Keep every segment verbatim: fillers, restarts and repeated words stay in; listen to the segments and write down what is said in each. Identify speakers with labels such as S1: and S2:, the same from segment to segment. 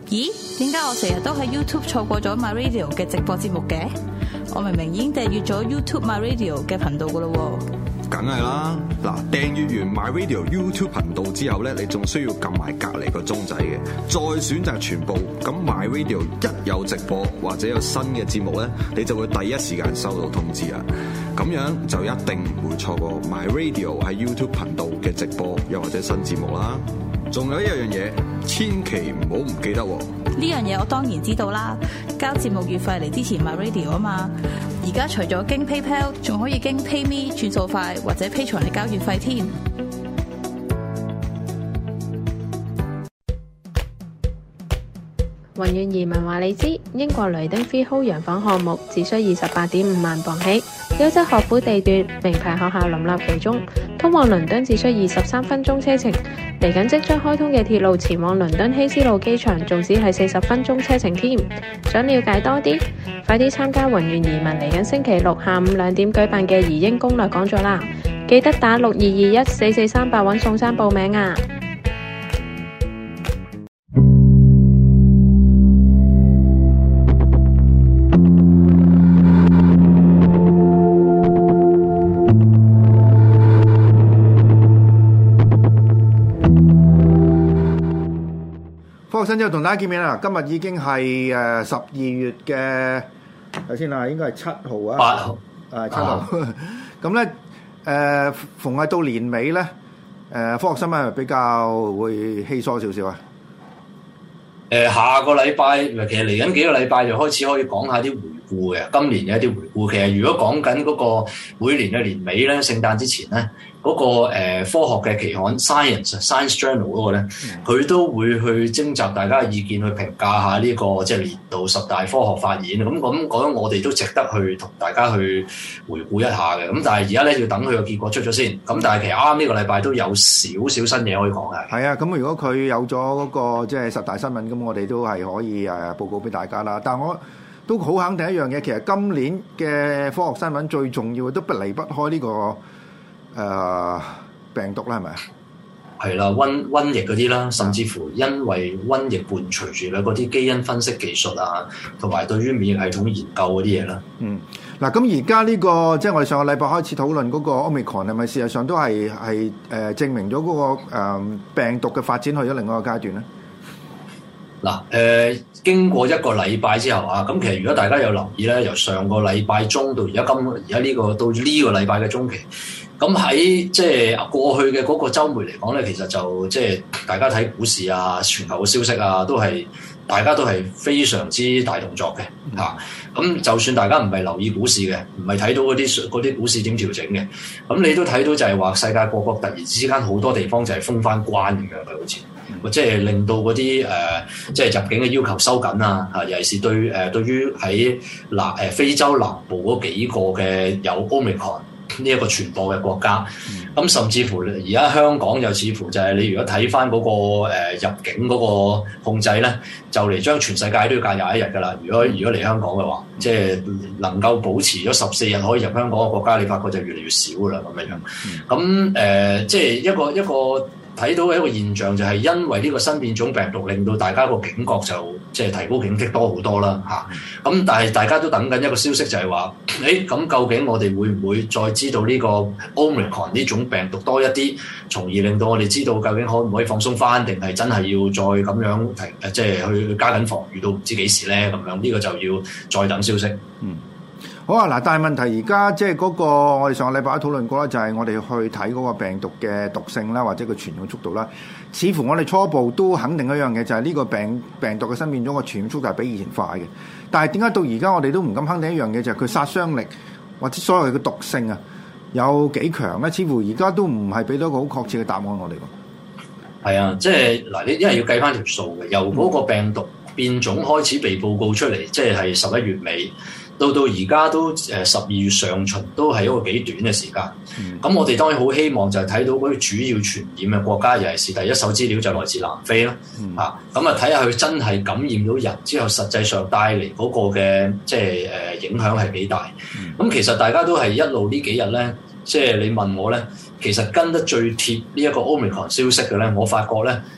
S1: 咦？點解我成日都喺 YouTube 錯過咗 My Radio 嘅直播節目嘅？我明明已經訂閱咗 YouTube My Radio 嘅頻道噶啦喎。
S2: 梗係啦，嗱，訂閱完 My Radio YouTube 頻道之後咧，你仲需要撳埋隔離個鐘仔嘅，再選擇全部。咁 My Radio 一有直播或者有新嘅節目咧，你就會第一時間收到通知啊！咁樣就一定唔會錯過 My Radio 喺 YouTube 頻道嘅直播又或者新節目啦。仲有一樣嘢，千祈唔好唔記得喎！
S1: 呢樣嘢我當然知道啦，交節目月費嚟支持 My Radio 啊嘛。而家除咗經 PayPal， 仲可以經 PayMe 轉數快或者 Patreon嚟交月費添。
S3: 宏遠移民話你知，英國雷丁 Freehold 洋房項目只需二十八點五萬鎊起，優質學府地段，名牌學校林立其中，通往倫敦只需二十三分鐘車程。嚟緊即將開通嘅鐵路前往倫敦希斯路機場，仲只係四十分鐘車程添。想了解多啲，快啲參加宏遠移民嚟緊星期六下午兩點舉辦嘅移英攻略講座啦！記得打六二二一四四三八揾宋生報名啊！
S4: 科學新知同大家見面啦！今日已經係誒十二月嘅，睇先啦，應該係七號啊，
S5: 八號
S4: 啊七號。咁咧誒，逢係到年尾咧，誒、呃、科學新聞係比較會稀疏少少啊。
S5: 誒、呃，下個禮拜，其實嚟緊幾個禮拜就開始可以講下啲回顧嘅，今年嘅一啲回顧。其實如果講緊嗰個每年嘅年尾咧，聖誕之前咧。嗰、那個、呃、科學嘅期刊 Science Science Journal 嗰個咧，佢、嗯、都會去徵集大家嘅意見，去評價下呢、這個即係年度十大科學發現。咁咁講，我哋都值得去同大家去回顧一下嘅。咁但係而家咧要等佢個結果出咗先。咁但係其實啱啱呢個禮拜都有少少新嘢可以講嘅。
S4: 係啊，咁如果佢有咗嗰、那個即係、就是、十大新聞，咁我哋都係可以誒報告俾大家啦。但係我都好肯定一樣嘢，其實今年嘅科學新聞最重要嘅都不離不開呢、這個。誒、呃、病毒啦，係咪啊？
S5: 係啦，瘟瘟疫嗰啲啦，甚至乎因為瘟疫伴隨住咧嗰啲基因分析技術啊，同埋對於免疫系統研究嗰啲嘢啦。嗯，
S4: 嗱，咁而家呢個即係我哋上個禮拜開始討論嗰個 Omicron 係咪事實上都係係誒證明咗嗰、那個、呃、病毒嘅發展去咗另外一個階段咧？
S5: 嗱，誒、呃、經過一個禮拜之後啊，咁其實如果大家有留意咧，由上個禮拜中到而家今而家呢個到呢個禮拜嘅中期。咁喺即係過去嘅嗰個週末嚟講咧，其實就即係大家睇股市啊、全球嘅消息啊，都係大家都係非常之大動作嘅嚇。咁、嗯啊、就算大家唔係留意股市嘅，唔係睇到嗰啲嗰啲股市點調整嘅，咁你都睇到就係話世界各國突然之間好多地方就係封翻關咁樣嘅，好似即係令到嗰啲誒即係入境嘅要求收緊啊嚇，尤其是對誒、呃、對於喺南誒非洲南部嗰幾個嘅有 Omicron呢一個傳播嘅國家，咁、嗯、甚至乎而家香港又似乎就係你如果睇翻嗰個、呃、入境嗰個控制咧，就嚟將全世界都要隔廿一日噶啦。如果如果嚟香港嘅話，即係能夠保持咗十四日可以入香港嘅國家，你發覺就越嚟越少噶啦咁樣樣。咁誒、呃，即係一個一個。睇到嘅一個現象就係因為呢個新變種病毒令到大家個警覺就即係提高警惕多好多啦嚇。咁但係大家都等緊一個消息就係話，誒咁究竟我哋會唔會再知道呢個 Omicron 呢種病毒多一啲，從而令到我哋知道究竟可唔可以放鬆翻，定係真係要再咁樣提即係去加緊防禦到唔知幾時咧咁樣？呢、這個就要再等消息。嗯。
S4: 好啊，嗱，但係問題而家即係嗰個我哋上個禮拜都討論過啦，就係、是、我哋去睇嗰個病毒嘅毒性啦，或者個傳染速度啦。似乎我哋初步都肯定一樣嘢，就係、是、呢個病病毒嘅新變種個傳染速度係比以前快嘅。但係點解到而家我哋都唔敢肯定一樣嘢，就係、是、佢殺傷力或者所謂嘅毒性啊，有幾強咧？似乎而家都唔係俾到一個好確切嘅答案我哋喎。
S5: 係啊，即係嗱，你因為要計翻條數嘅，由嗰個病毒變種開始被報告出嚟，即係係十一月尾。到到而家都誒十二月上旬都係一個幾短嘅時間，咁、嗯、我哋當然好希望就係睇到嗰啲主要傳染嘅國家，尤其是第一手資料就來自南非啦，嗯、啊，咁啊睇下佢真係感染到人之後，實際上帶嚟嗰個嘅即係誒影響係幾大。咁、嗯、其實大家都係一路呢幾日咧，即係你問我咧，其實跟得最貼呢一個 Omicron 消息嘅咧，我發覺咧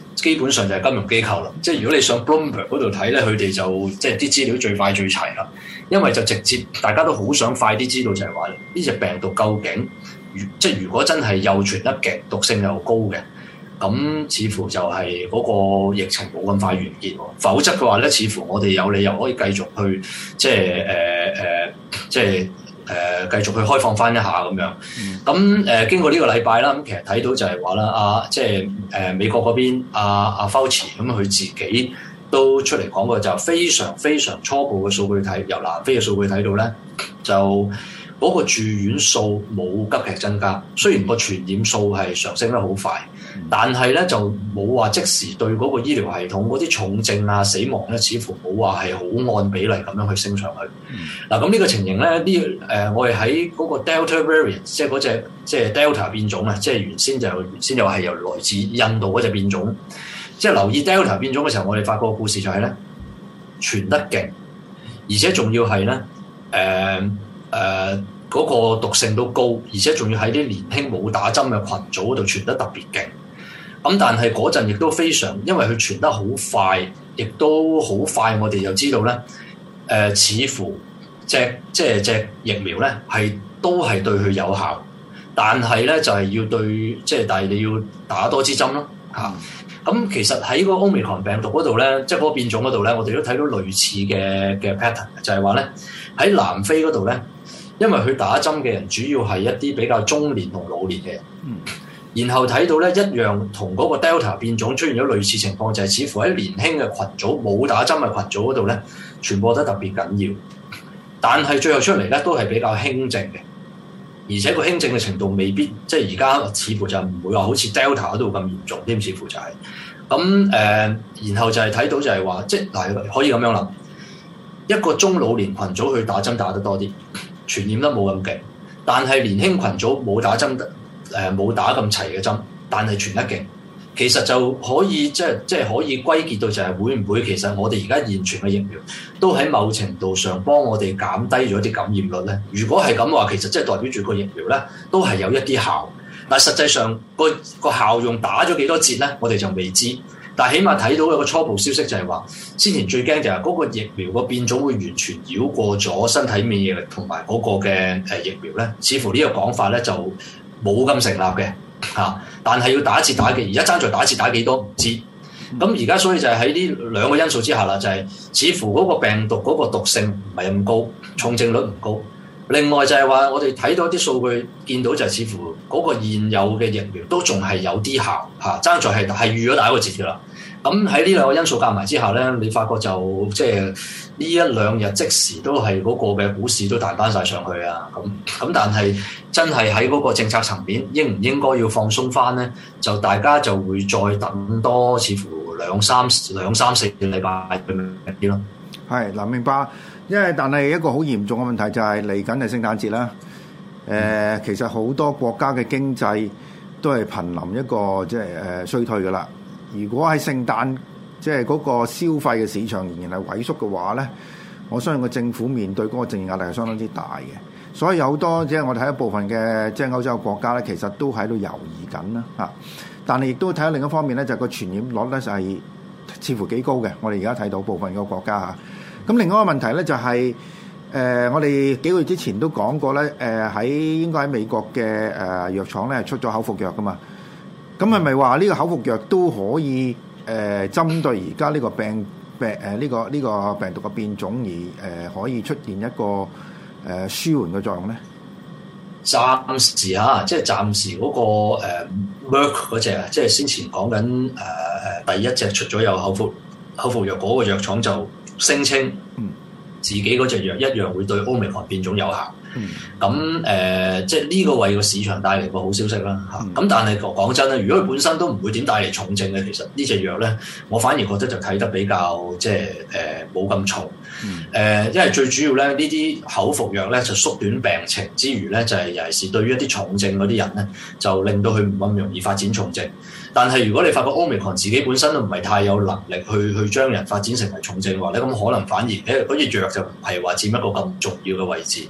S5: 基本上就係金融機構啦。即係如果你上 Bloomberg 嗰度睇咧，佢哋就即係啲資料最快最齊啦。因為就直接大家都好想快啲知道就係話呢隻病毒究竟，即係如果真係又傳得勁，毒性又高嘅，咁似乎就係嗰個疫情冇咁快完結。否則嘅話咧，似乎我哋有理由可以繼續去即係誒誒，即係誒、呃、繼續去開放翻一下咁樣。咁誒、呃、經過呢個禮拜啦，咁其實睇到就係話啦，啊即係誒、呃、美國嗰邊阿阿 Fauci 咁佢自己都出嚟講過，就非常非常初步嘅數據睇，由南非嘅數據睇到咧，就嗰個住院數冇急劇增加。雖然個傳染數係上升得好快，但係咧就冇話即時對嗰個醫療系統嗰啲重症啊、死亡咧，似乎冇話係好按比例咁樣去升上去。嗱、嗯，咁呢個情形咧，呢誒、呃、我哋喺嗰個 Delta variant， 即係嗰隻即係 Delta 變種啊，即係原先就原先又係由來自印度嗰隻變種。即係留意 Delta 變種嘅時候，我哋發覺個故事就係咧傳得勁，而且仲要係咧誒誒嗰個毒性都高，而且仲要喺啲年輕冇打針嘅群組嗰度傳得特別勁。咁但係嗰陣亦都非常，因為佢傳得好快，亦都好快，我哋就知道咧誒、呃，似乎隻即係隻疫苗咧係都係對佢有效，但係咧就係、是、要對即係，但係你要打多支針咯嚇。咁其實喺個 Omicron 病毒嗰度咧，即係嗰個變種嗰度咧，我哋都睇到類似嘅嘅 pattern，就係話咧喺南非嗰度咧，因為佢打針嘅人主要係一啲比較中年同老年嘅人，嗯、然後睇到咧一樣同嗰個 Delta 變種出現咗類似情況，就係、是、似乎喺年輕嘅群組冇打針嘅群組嗰度咧，傳播得特別緊要，但係最後出嚟咧都係比較輕症嘅。而且個輕症嘅程度未必，即係而家似乎就唔會話好似 Delta 嗰度咁嚴重，添似乎就係咁誒。然後就係睇到就係話，即係嗱可以咁樣諗，一個中老年群組去打針打得多啲，傳染得冇咁勁，但係年輕群組冇打針得誒冇打咁齊嘅針，但係傳得勁。其實就可以即係即係可以歸結到就係會唔會其實我哋而家現存嘅疫苗都喺某程度上幫我哋減低咗啲感染率咧？如果係咁嘅話，其實即係代表住個疫苗咧都係有一啲效，但係實際上個個效用打咗幾多折咧，我哋就未知。但係起碼睇到有個初步消息就係話，先前最驚就係嗰個疫苗個變種會完全繞過咗身體免疫力同埋嗰個嘅誒疫苗咧，似乎呢個講法咧就冇咁成立嘅。嚇！但係要打折打幾，而家爭在打折打幾多唔知。咁而家所以就係喺呢兩個因素之下啦，就係、是、似乎嗰個病毒嗰個毒性唔係咁高，重症率唔高。另外就係話我哋睇到啲數據，見到就係似乎嗰個現有嘅疫苗都仲係有啲效嚇，爭在係係預咗打個折㗎啦。咁喺呢兩個因素夾埋之下咧，你發覺就即係呢一兩日即時都係嗰個嘅股市都彈翻晒上去啊！咁咁但係真係喺嗰個政策層面應唔應該要放鬆翻咧？就大家就會再等多似乎兩三兩三四個禮拜啲咯。
S4: 係嗱，明白。因為但係一個好嚴重嘅問題就係嚟緊係聖誕節啦。誒、呃，其實好多國家嘅經濟都係瀕臨一個即係誒衰退㗎啦。如果喺聖誕即係嗰個消費嘅市場仍然係萎縮嘅話咧，我相信個政府面對嗰個政治壓力係相當之大嘅。所以有好多即係我哋睇一部分嘅即係歐洲嘅國家咧，其實都喺度猶豫緊啦嚇。但係亦都睇下另一方面咧，就係、是、個傳染率咧就係似乎幾高嘅。我哋而家睇到部分個國家嚇。咁另外一個問題咧就係、是、誒、呃，我哋幾個月之前都講過咧，誒、呃、喺應該喺美國嘅誒、呃、藥廠咧出咗口服藥噶嘛。咁係咪話呢個口服藥都可以誒、呃、針對而家呢個病病誒呢、呃這個呢、這個病毒嘅變種而誒、呃、可以出現一個誒、呃、舒緩嘅作用咧？
S5: 暫時嚇，即係暫時嗰、那個誒 Merck 嗰隻啊，即係先前講緊誒第一隻出咗有口服口服藥嗰個藥廠就聲稱自己嗰隻藥一樣會對 Omicron 變種有效。咁誒、嗯呃，即係呢個為個市場帶嚟個好消息啦嚇。咁、嗯、但係講真咧，如果佢本身都唔會點帶嚟重症嘅，其實呢隻藥咧，我反而覺得就睇得比較即係誒冇咁重。誒、嗯呃，因為最主要咧，呢啲口服藥咧就縮短病情之餘咧，就係、是、尤其是對於一啲重症嗰啲人咧，就令到佢唔咁容易發展重症。但係如果你發覺 Omicron 自己本身都唔係太有能力去去將人發展成為重症嘅話咧，咁可能反而誒嗰隻藥就唔係話佔一個咁重要嘅位置。佢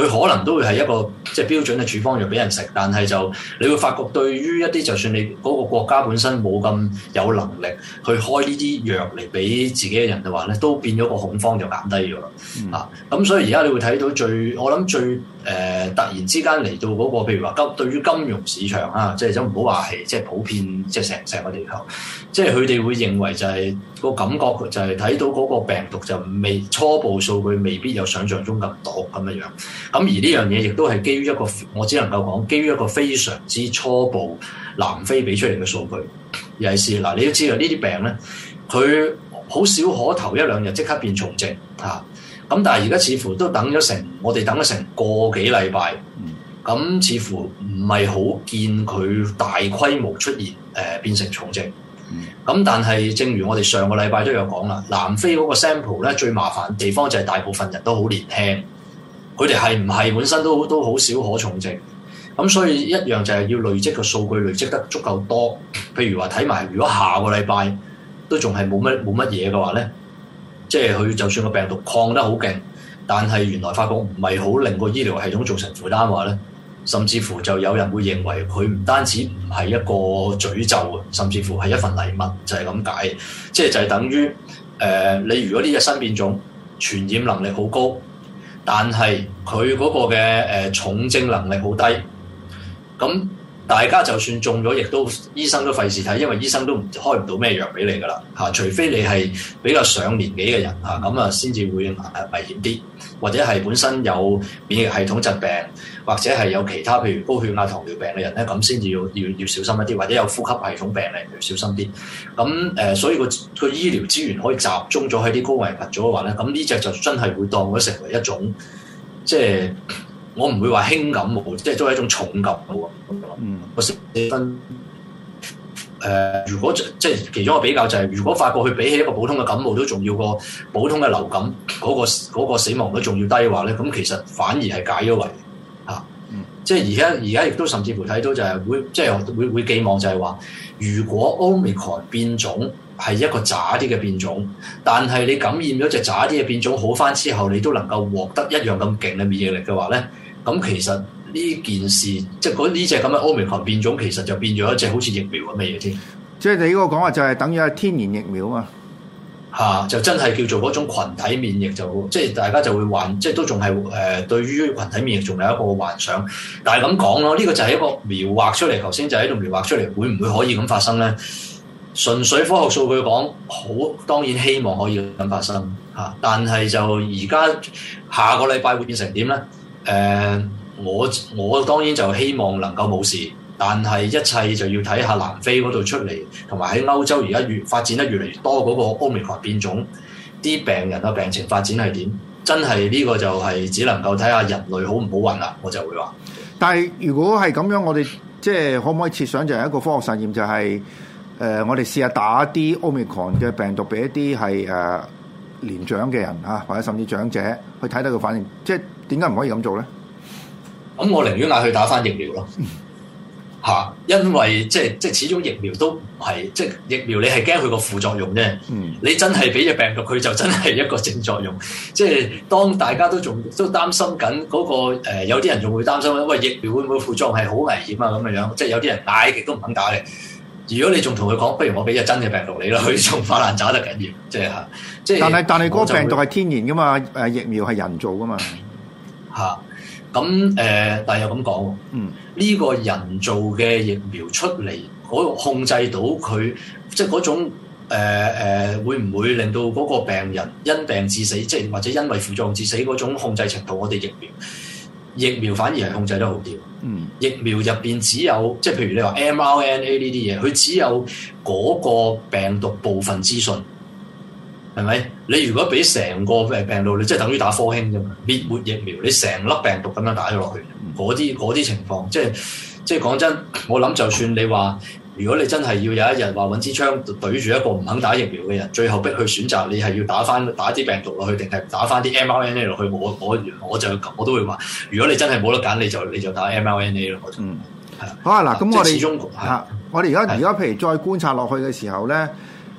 S5: 可能都會係一個即係標準嘅處方藥俾人食，但係就你會發覺對於一啲就算你嗰個國家本身冇咁有能力去開呢啲藥嚟俾自己嘅人嘅話咧，都變咗個恐慌就減低咗啦。嗯、啊，咁所以而家你會睇到最我諗最誒、呃、突然之間嚟到嗰、那個譬如話金對於金融市場啊，即係都唔好話係即係普遍即係成成個地球，即係佢哋會認為就係、是、個感覺就係睇到嗰個病毒就未初步數據未必有想像中咁多咁樣樣。咁而呢樣嘢亦都係基於一個，我只能夠講基於一個非常之初步南非俾出嚟嘅數據。尤其是嗱，你都知道呢啲病咧，佢好少可頭一兩日即刻變重症嚇。咁、啊、但係而家似乎都等咗成，我哋等咗成個幾禮拜，咁、嗯、似乎唔係好見佢大規模出現誒、呃、變成重症。咁、嗯、但係正如我哋上個禮拜都有講啦，南非嗰個 sample 咧最麻煩嘅地方就係大部分人都好年輕。佢哋係唔係本身都都好少可重症，咁所以一樣就係要累積個數據累積得足夠多。譬如話睇埋，如果下個禮拜都仲係冇乜冇乜嘢嘅話咧，即係佢就算個病毒抗得好勁，但係原來發覺唔係好令個醫療系統造成負擔嘅話咧，甚至乎就有人會認為佢唔單止唔係一個詛咒，甚至乎係一份禮物，就係咁解。即係就係等於誒、呃，你如果呢隻新變種傳染能力好高。但係佢嗰個嘅誒、呃、重症能力好低，咁大家就算中咗，亦都醫生都費事睇，因為醫生都唔開唔到咩藥俾你噶啦嚇，除非你係比較上年紀嘅人嚇，咁啊先至會危險啲，或者係本身有免疫系統疾病，或者係有其他譬如高血壓、糖尿病嘅人咧，咁先至要要要小心一啲，或者有呼吸系統病嚟要小心啲。咁誒、呃，所以個個醫療資源可以集中咗喺啲高危群組嘅話咧，咁呢隻就真係會當咗成為一種即係。我唔會話輕感冒，即係都係一種重感冒。嗯，個成分誒，如果即係其中一個比較就係、是，如果發覺佢比起一個普通嘅感冒都仲要個普通嘅流感嗰、那個嗰、那個死亡率仲要低嘅話咧，咁其實反而係解咗圍嚇。嗯、即係而家而家亦都甚至乎睇到就係會即係會會寄望就係話，如果 Omicron 變種係一個渣啲嘅變種，但係你感染咗隻渣啲嘅變種好返之後，你都能夠獲得一樣咁勁嘅免疫力嘅話咧。咁其實呢件事，即係嗰呢隻咁嘅 Omicron 變種，其實就變咗一隻好似疫苗咁嘅嘢添。
S4: 即係你呢個講話就係等於係天然疫苗啊，
S5: 嚇、啊！就真係叫做嗰種群體免疫，就即係大家就會幻，即係都仲係誒對於群體免疫仲有一個幻想。但係咁講咯，呢、這個就係一個描畫出嚟，頭先就喺度描畫出嚟，會唔會可以咁發生咧？純粹科學數據講，好當然希望可以咁發生嚇、啊，但係就而家下個禮拜會變成點咧？誒、呃，我我當然就希望能夠冇事，但係一切就要睇下南非嗰度出嚟，同埋喺歐洲而家越發展得越嚟越多嗰個 Omicron 變種，啲病人嘅病情發展係點？真係呢個就係只能夠睇下人類好唔好運啦，我就會話。但係
S4: 如果係咁樣，我哋即係可唔可以設想就係一個科學實驗，就係、是、誒、呃、我哋試下打啲 Omicron 嘅病毒俾一啲係誒年長嘅人啊，或者甚至長者去睇睇個反應，即係。點解唔可以咁做咧？
S5: 咁我寧願嗌佢打返疫苗咯，嚇、啊！因為即係即係始終疫苗都唔係即係疫苗，你係驚佢個副作用啫。嗯，你真係俾隻病毒佢就真係一個正作用。即係當大家都仲都擔心緊嗰、那個、呃、有啲人仲會擔心喂，疫苗會唔會副作用係好危險啊咁嘅樣。即係有啲人嗌極都唔肯打嘅。如果你仲同佢講，不如我俾隻真嘅病毒你啦，佢仲發爛渣得緊要。即係嚇，即係。但係但係嗰個病毒係天然噶嘛？誒疫苗係人造噶嘛？嚇，咁誒、呃，但係又咁講，嗯，呢個人造嘅疫苗出嚟，嗰控制到佢，即係嗰種誒誒、呃呃，會唔會令到嗰個病人因病致死，即係或者因為副作用致死嗰種控制程度，我哋疫苗疫苗反而係控制得好啲。嗯，疫苗入邊只有，即係譬如你話 M R N A 呢啲嘢，佢只有嗰個病毒部分資訊。係咪？你如果俾成個病病毒，你即係等於打科興啫嘛，滅活疫苗，你成粒病毒咁樣打咗落去，嗰啲嗰啲情況，即係即係講真，我諗就算你話，如果你真係要有一日話揾支槍對住一個唔肯打疫苗嘅人，最後逼佢選擇，你係要打翻打啲病毒落去，定係打翻啲 M R N A 落去？我我我就我都會話，如果你真係冇得揀，你就你就打 M R N A 咯。嗯，係啊。好啊，嗱，咁我哋嚇，我哋而家而家譬如再觀察落去嘅時候咧。誒、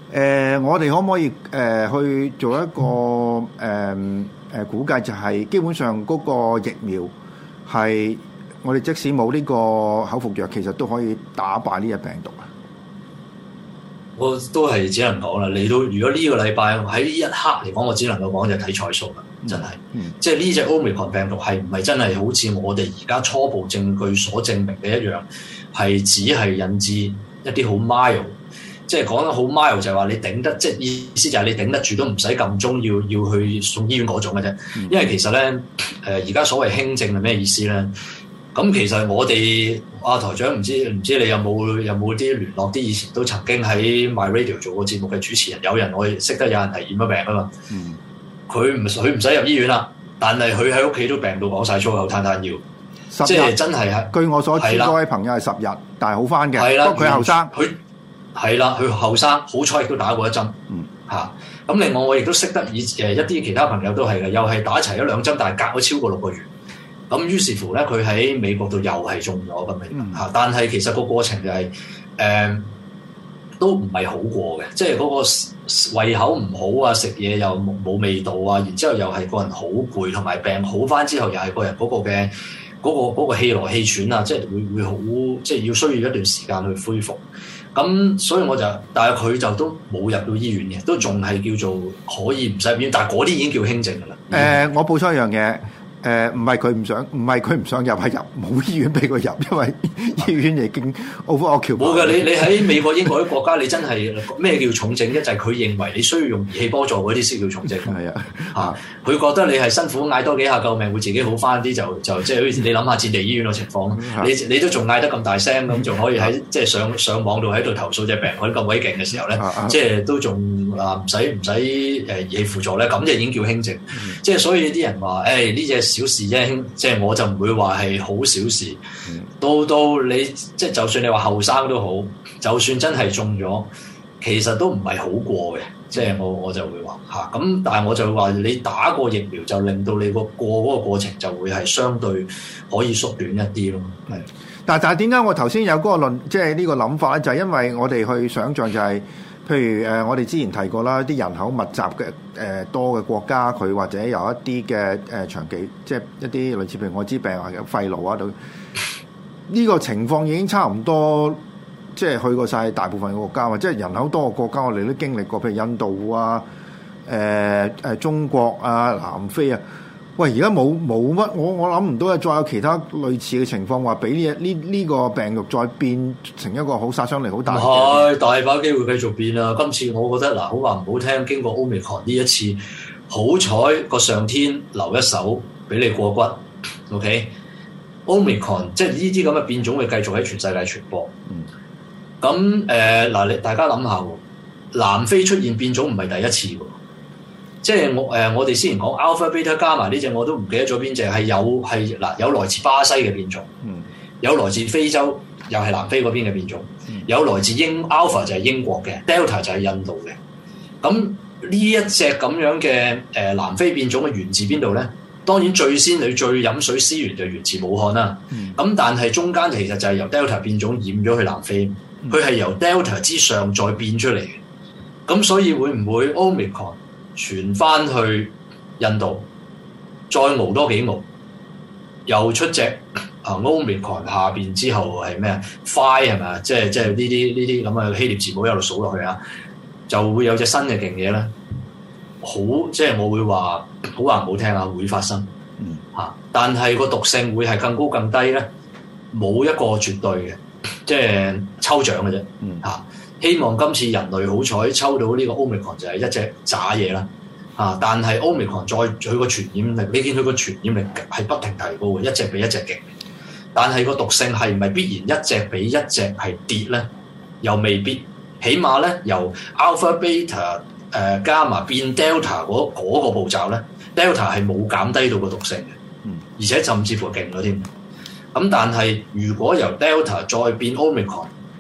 S4: 呃，我哋可唔可以誒、呃、去做一個誒誒、呃呃、估計，就係基本上嗰個疫苗係我哋即使冇呢個口服藥，其實都可以打敗呢隻病毒啊？
S5: 我都係只能講啦，你都如果呢個禮拜喺呢一刻嚟講，我只能夠講就睇彩數啦，真係，嗯嗯、即係呢隻 Omicron 病毒係唔係真係好似我哋而家初步證據所證明嘅一樣，係只係引致一啲好 mild， 即係講得好 mild 就係話你頂得，即係意思就係你頂得住都唔使撳鐘要要去送醫院嗰種嘅啫。嗯、因為其實咧，誒而家所謂輕症係咩意思咧？咁其實我哋阿、啊、台長唔知唔知你有冇有冇啲聯絡啲以前都曾經喺 My Radio 做過節目嘅主持人，有人我識得有人係染咗病啊嘛。嗯，佢唔佢唔使入醫院啦，但係佢喺屋企都病到講晒粗口，攤攤腰，即係真係係。據我所知，嗰位朋友係十日，但係好翻嘅。不過佢後生，佢係啦，佢後生，好彩亦都打過一針。嗯，嚇、啊。咁另外我亦都識得以誒一啲其他朋友都係嘅，又係打齊一兩針，但係隔咗超過六個月。咁於是乎咧，佢喺美國度又係中咗咁樣嚇，但係其實個過程就係、是、誒、呃、都唔係好過嘅，即係嗰個胃口唔好啊，食嘢又冇味道啊，然之後又係個人好攰，同埋病好翻之後又係個人嗰個嘅嗰、嗰個嗰個氣來氣喘啊，即係會會好，即係要需要一段時間去恢復。咁所以我就，但係佢就都冇入到醫院嘅，都仲係叫做可以唔使入院，但係嗰啲已經叫輕症㗎啦。誒、
S4: 呃，我補充一樣嘢。誒唔係佢唔想，唔係佢唔想入，係入冇醫院俾佢入，因為醫院已經 overoccupied。冇嘅，你你喺美國、英國啲國家，你真係咩叫重症？一就係佢認為你需要用儀器幫助嗰啲先叫重症。係啊，嚇佢覺得你係辛苦嗌多幾下救命會自己好翻啲，就就即係好似你諗下戰地醫院嘅情況，你你都仲嗌得咁大聲咁，仲可以喺即係上上網度喺度投訴隻病佢咁鬼勁嘅時候咧，即係都仲啊唔使唔使誒儀器輔助咧，咁就已經叫輕症。即係所以啲人話誒呢隻小事啫，即係我就唔會話係好小事。嗯、到到你即係就算你話後生都好，就算真係中咗，其實都唔係好過嘅。即係我我就會話嚇咁，但係我就會話你打過疫苗就令到你個過嗰個過程就會係相對可以縮短一啲咯。係，但係但係點解我頭先有嗰個論，即係呢個諗法咧？就係、是、因為我哋去想像就係、是。譬如誒、呃，我哋之前提過啦，啲人口密集嘅誒、呃、多嘅國家，佢或者有一啲嘅誒長期，即係一啲類似譬如愛滋病啊、肺癆啊度，呢、這個情況已經差唔多，即係去過晒大部分嘅國家，或者係人口多嘅國家，我哋都經歷過，譬如印度啊、誒、呃、誒中國啊、南非啊。喂，而家冇冇乜，我我諗唔到係再有其他類似嘅情況，話俾呢呢呢個病毒再變成一個好殺傷力好大嘅。
S5: 係大把機會繼續變啦。今次我覺得嗱，好話唔好聽，經過 Omicron 呢一次，好彩個上天留一手俾你過骨。OK，Omicron、嗯、即係呢啲咁嘅變種會繼續喺全世界傳播。咁誒嗱，你大家諗下喎，南非出現變種唔係第一次喎。即係我誒、呃，我哋之前講 Alpha Beta Gamma 呢隻，我都唔記得咗邊隻係有係嗱，有來自巴西嘅變種，嗯、有來自非洲，又係南非嗰邊嘅變種，嗯、有來自英 Alpha 就係英國嘅 ，Delta 就係印度嘅。咁呢一隻咁樣嘅誒、呃、南非變種嘅源自邊度咧？當然最先你最飲水思源就源自武漢啦。咁、嗯、但係中間其實就係由 Delta 變種染咗去南非，佢係、嗯、由 Delta 之上再變出嚟嘅。咁所以會唔會 Omicron傳翻去印度，再熬多幾熬，又出隻啊 Omicron 下邊之後係咩啊 ？Phi 係咪啊？即係即係呢啲呢啲咁嘅希臘字母一路數落去啊，就會有隻新嘅勁嘢咧。好，即係我會話好話唔好聽啊，會發生。嗯，嚇，但係個毒性會係更高更低咧，冇一個絕對嘅，即係抽獎嘅啫。嗯，嚇。希望今次人類好彩抽到呢個 Omicron 就係一隻渣嘢啦，啊！但係 Omicron 再佢個傳染力，你見佢個傳染力係不停提高嘅，一隻比一隻勁。但係個毒性係唔係必然一隻比一隻係跌咧？又未必。起碼咧由 Alpha Beta 誒、呃、Gamma 變 Delta 嗰、嗰個步驟咧 ，Delta 係冇減低到個毒性嘅，嗯，而且甚至乎勁咗添。咁但係如果由 Delta 再變 Omicron，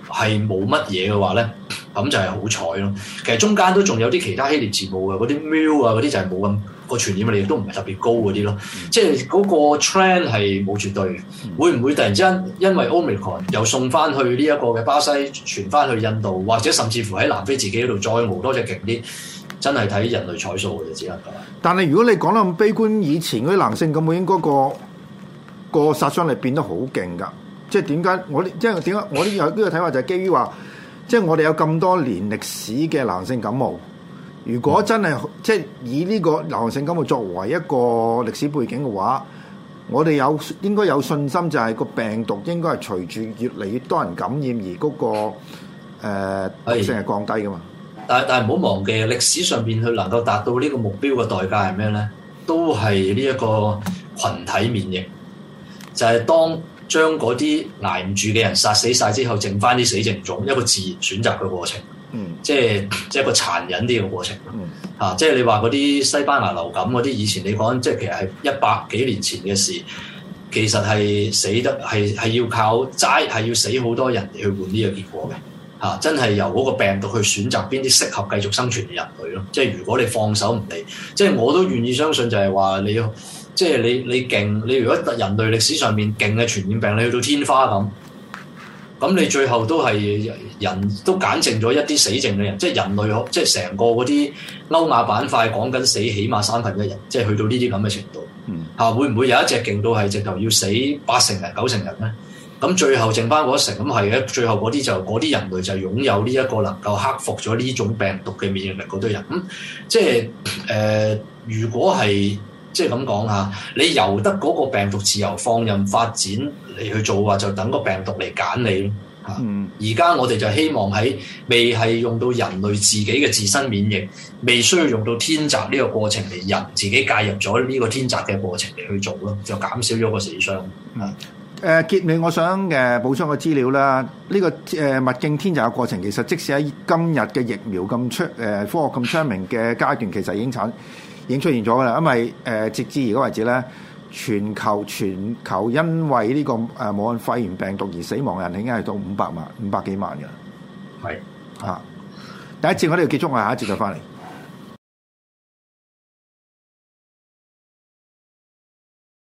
S5: 係冇乜嘢嘅話咧，咁就係好彩咯。其實中間都仲有啲其他希臘字母嘅，嗰啲 mu 啊嗰啲就係冇咁個傳染力，亦都唔係特別高嗰啲咯。嗯、即係嗰個 trend 係冇絕對嘅。嗯、會唔會突然之間因為 Omicron 又送翻去呢一個嘅巴西，傳翻去印度，或者甚至乎喺南非自己嗰度再熬多隻勁啲？真係睇人類彩數嘅，只能夠。但
S4: 係如果你講得咁悲觀，以前嗰啲男性感冒應該個個殺傷力變得好勁㗎。即係點解我啲即係點解我啲有呢個睇法就係基於話，即係我哋有咁多年歷史嘅流行性感冒，如果真係、嗯、即係以呢個流行性感冒作為一個歷史背景嘅話，我哋有應該有信心就係個病毒應該係隨住越嚟越多人感染而嗰、嗰個誒、呃、毒性係降低㗎嘛。
S5: 但係但係唔好忘記，歷史上邊佢能夠達到呢個目標嘅代價係咩咧？都係呢一個群體免疫，就係、是、當將嗰啲捱唔住嘅人殺死晒之後，剩翻啲死剩種，一個自然選擇嘅過程。嗯，即係即係一個殘忍啲嘅過程。嗯，嚇、啊，即係你話嗰啲西班牙流感嗰啲，以前你講即係其實係一百幾年前嘅事，其實係死得係係要靠齋係要死好多人嚟去換呢個結果嘅。嚇、啊！真係由嗰個病毒去選擇邊啲適合繼續生存嘅人類咯。即係如果你放手唔理，即係我都願意相信就係話你，即係你你勁，你如果人類歷史上面勁嘅傳染病，你去到天花咁，咁你最後都係人都揀剩咗一啲死剩嘅人，即係人類即係成個嗰啲歐亞板塊講緊死起碼三分一人，即係去到呢啲咁嘅程度。嗯。嚇、啊！會唔會有一隻勁到係直頭要死八成人九成人咧？咁最後剩翻嗰一成，咁係嘅。最後嗰啲就嗰啲人類就擁有呢一個能夠克服咗呢種病毒嘅免疫力嗰堆人。咁、嗯、即係誒、呃，如果係即係咁講嚇，你由得嗰個病毒自由放任發展嚟去做話，就等個病毒嚟揀你咯嚇。而家、嗯、我哋就希望喺未係用到人類自己嘅自身免疫，未需要用到天擇呢個過程嚟人自己介入咗呢個天擇嘅過程嚟去做咯，就減少咗個死傷。嗯。
S4: 誒結尾，我想誒補充個資料啦。呢、這個誒物競天擇嘅過程，其實即使喺今日嘅疫苗咁出誒科學咁昌明嘅階段，其實已經產已經出現咗㗎啦。因為誒、呃、直至而家為止咧，全球全球因為呢、這個誒、呃、武漢肺炎病毒而死亡嘅人已經係到五百萬五百幾萬㗎啦。係嚇是，第一節我哋要結束，我下一節再翻嚟。